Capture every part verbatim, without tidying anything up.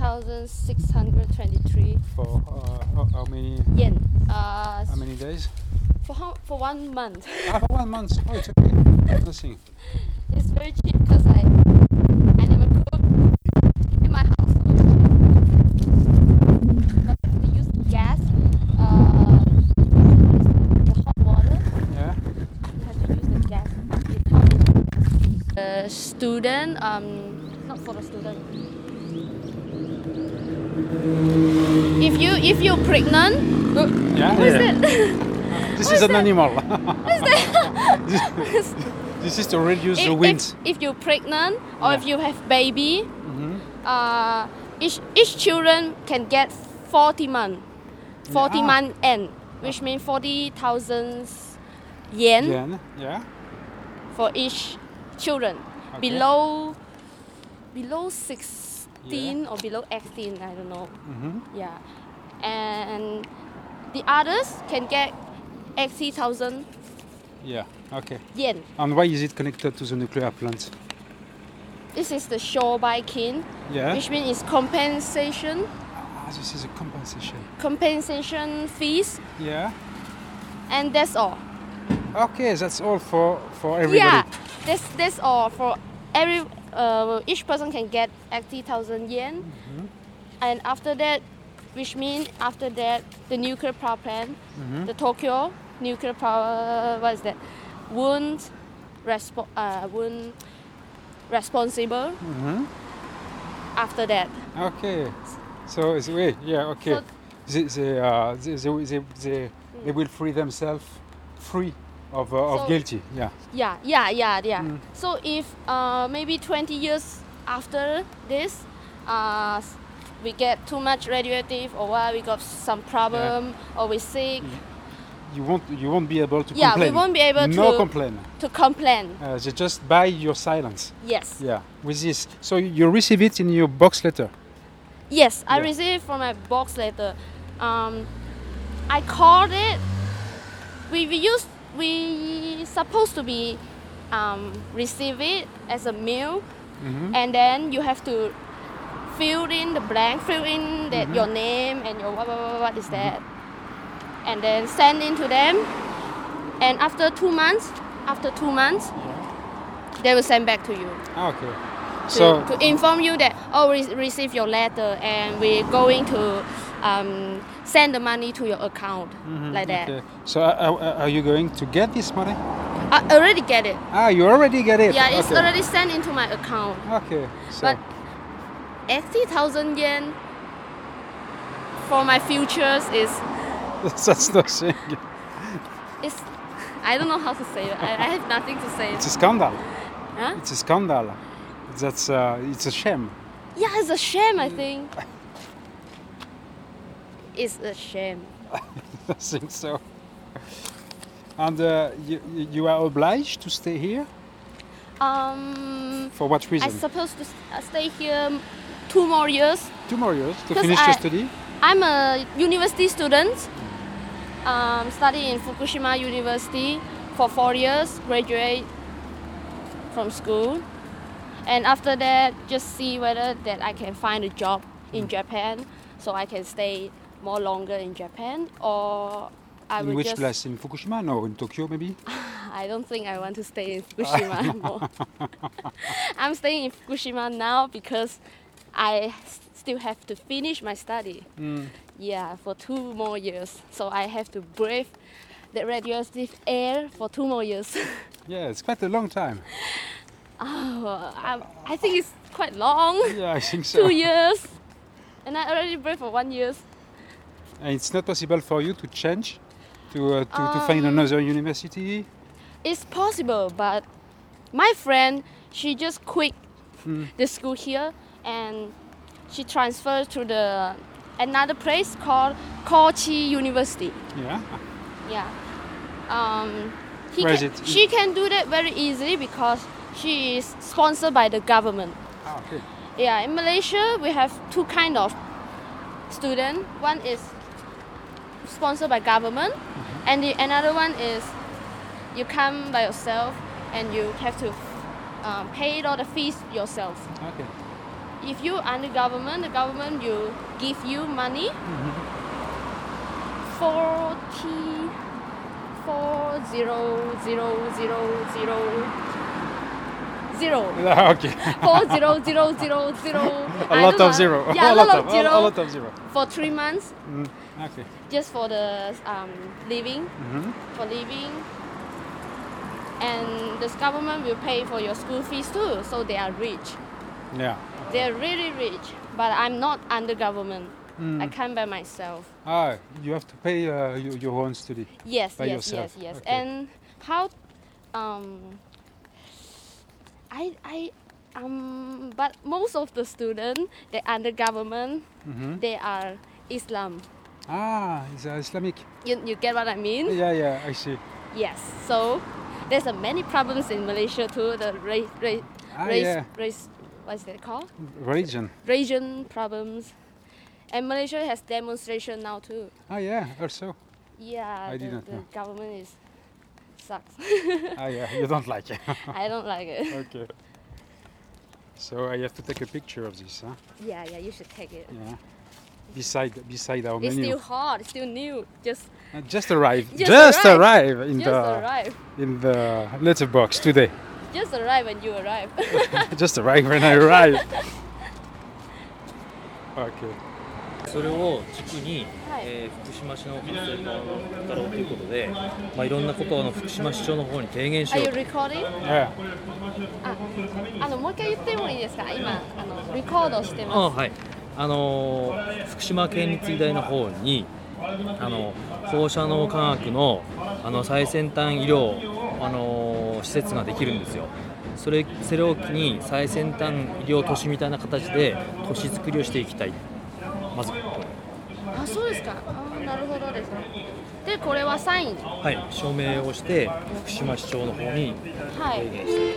thousand six hundred twenty-three. For uh, how, how many? Yen. Uh, How many days? For how, for one month. Ah, for one month. Oh, it's okay. Nothing. It's very cheap because I I never cook in my household. But we use gas, uh, the hot water. Yeah. You have to use the gas. It comes. The student, um, not for the student. If you if you're pregnant, uh, Yeah. what is yeah. it? This What is is an that? animal. What is that? this, this is to reduce the if, wind. if, if you're pregnant or Yeah. if you have baby, Mhm. uh, each each children can get forty month, forty Ah. month end, which means forty thousand yen Yen. Yeah. for each children. Okay. Below below sixteen or below eighteen, I don't know. Mhm. Yeah, and the others can get eighty thousand Yeah. Okay. yen. And why is it connected to the nuclear plant? This is the Shobaikin, Yeah. which means it's compensation. Ah, this is a compensation. compensation fees, Yeah. and that's all. Okay, that's all for for everybody. Yeah, that's that's all for every. Uh, each person can get eighty thousand yen, Mhm. and after that, which means after that, the nuclear power plant, Mhm. the Tokyo nuclear power, what is that? Won't respo- uh, won't responsible Mhm. after that. Okay. So it's wait. Yeah. Okay. So- they they, uh, they, they, they, they, they will free themselves free of uh, of So- guilty. Yeah. Yeah, yeah, yeah, yeah. Mm. So if uh, maybe twenty years after this, uh, s- we get too much radioactive, or what, we got some problem, or we sick, You won't you won't be able to Yeah, we complain. won't be able no to- complain. to complain. Uh, they just buy your silence. Yes, Yeah. With this, so you receive it in your box letter. yes, I Yeah. received from my box letter. Um, I called it. We we used we supposed to be um, receive it as a mail, Mhm. and then you have to fill in the blank, fill in that Mhm. your name and your what, what, what, what is that, and then send in to them. And after two months, after two months, they will send back to you Ah, okay. to, So to inform you that oh, we receive your letter and we're going to um, send the money to your account, Mhm, like that. okay. So uh, uh, are you going to get this money? I already get it. Ah, you already get it. Yeah, it's okay. already sent into my account. Okay. So But eighty thousand yen for my futures is that's nothing. is I don't know how to say it. I, I have nothing to say. It's a scandal. Huh? It's a scandal. That's uh, it's a shame. Yeah, it's a shame. I think it's a shame. I think so. And uh, you, you are obliged to stay here? Um, For what reason? I'm supposed to s- uh, stay here two more years. Two more years to 'Cause finish I- your study? I'm a university student. Um, study in Fukushima University for four years. Graduate from school, and after that, just see whether that I can find a job in Japan, so I can stay more longer in Japan, or I In will which just. place? In Fukushima? No, in Tokyo maybe? I don't think I want to stay in Fukushima anymore. I'm staying in Fukushima now because I s- still have to finish my study. Mm. Yeah, for two more years. So I have to brave the radioactive air for two more years. Yeah, it's quite a long time. oh, I, I think it's quite long. Yeah, I think so. two years. And I already brave for one year. And it's not possible for you to change? To, uh, to, to find Um, another university? It's possible, but my friend, she just quit Mm. the school here and she transferred to the another place called Kochi University. Yeah. Yeah. Um, he Where is can, it? She can do that very easily because she is sponsored by the government. Ah, okay. Yeah, in Malaysia we have two kind of student. One is sponsored by government, Mm-hmm. and the another one is you come by yourself and you have to um, pay all the fees yourself. Okay. if you under government, the government will give you money. Forty four zero zero zero zero zero. Okay. Four zero zero zero zero. A I lot don't know. of zero. Yeah, a a lot lot of of zero. A, a lot of zero. For three months, Mm, okay. just for the um, living, Mhm. for living, and the government will pay for your school fees too. So they are rich. Yeah. They're really rich. But I'm not under government. Mm. I come by myself. Ah, you have to pay uh, your, your own study. Yes, By yes, yourself. yes, yes. Okay. And how? Um, I I um. But most of the students, they under government. Mhm. They are Islam. Ah, it's uh, Islamic. You you get what I mean? Yeah, yeah, I see. Yes. So there's a many problems in Malaysia too. The race, race, Ah, race, yeah. race. What's that called? Religion. Region problems. And Malaysia has demonstration now too. Ah, yeah, also. Yeah, I the, didn't the know. government is sucks. Ah, yeah, you don't like it. I don't like it. Okay. So I have to take a picture of this, huh? Yeah, yeah, you should take it. Yeah. Beside beside our It's menu. still hot, it's still new. Just Uh, just arrived. Just Just arrived. arrived in just the arrive. in the letterbox today. Just arrive when you arrive. Just arrived when I arrived. Okay. それを軸に、 はいえー福島市の活性化を図ろうということで、まあ、いろんなことをあの福島市長の方に提言し Are よ you うと。 recording? Yeah. あ、あのもう一回言ってもいいですか？今あのレコードしてあます。 はい、あのー福島県立医大の方にあの放射能科学のあの最先端医療、あのー施設ができるんですよ。それそれを機に最先端医療都市みたいな形で都市づくりをしていきたい。まずあ、そうですか。あ、なるほどですね。で、これはサイン。 はい署名をして福島市長の方にはい提言して。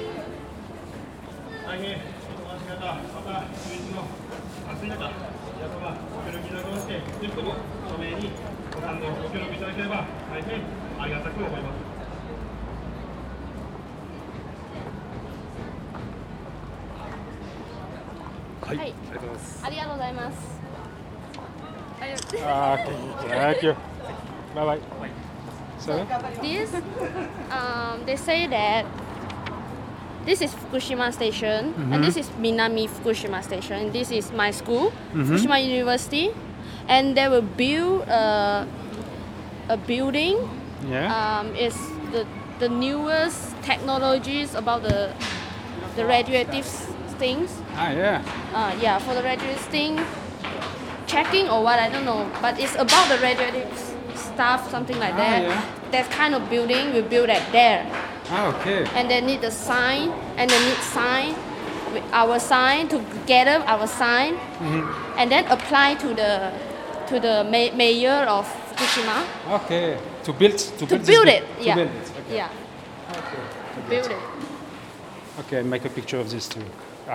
はい、 はいありがとうございます。 ありがとうございます。ありがとう Ah, okay. Thank you. Bye bye. So. This, um, they say that this is Fukushima Station, and this is Minami Fukushima Station, and this is my school, Fukushima University, and they will build a, a building. Yeah. Um, it's the the newest technologies about the the radioactive s- things. Ah, yeah. Uh, yeah, for the radioactive thing, checking or what, I don't know. But it's about the radioactive s- stuff, something like Ah, that. yeah. That kind of building we build at there. Ah, okay. And they need the sign, and they need sign, with our sign to gather our sign, and then apply to the to the ma- mayor of Fukushima Okay. To build to, to build, this build bit- it. To Yeah, build it. Okay. yeah, to build it. Okay, and make a picture of this too. Ah.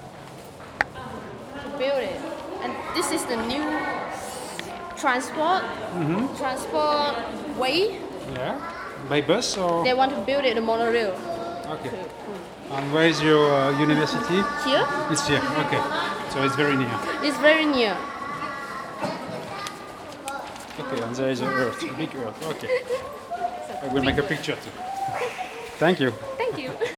build it. And this is the new transport transport way. Yeah. By bus or? They want to build it, the monorail. Okay. And where is your uh, university? Here, It's here. Okay. So it's very near. it's very near. Okay, and there is a earth, a big earth. Okay. I will make a picture too. Thank you.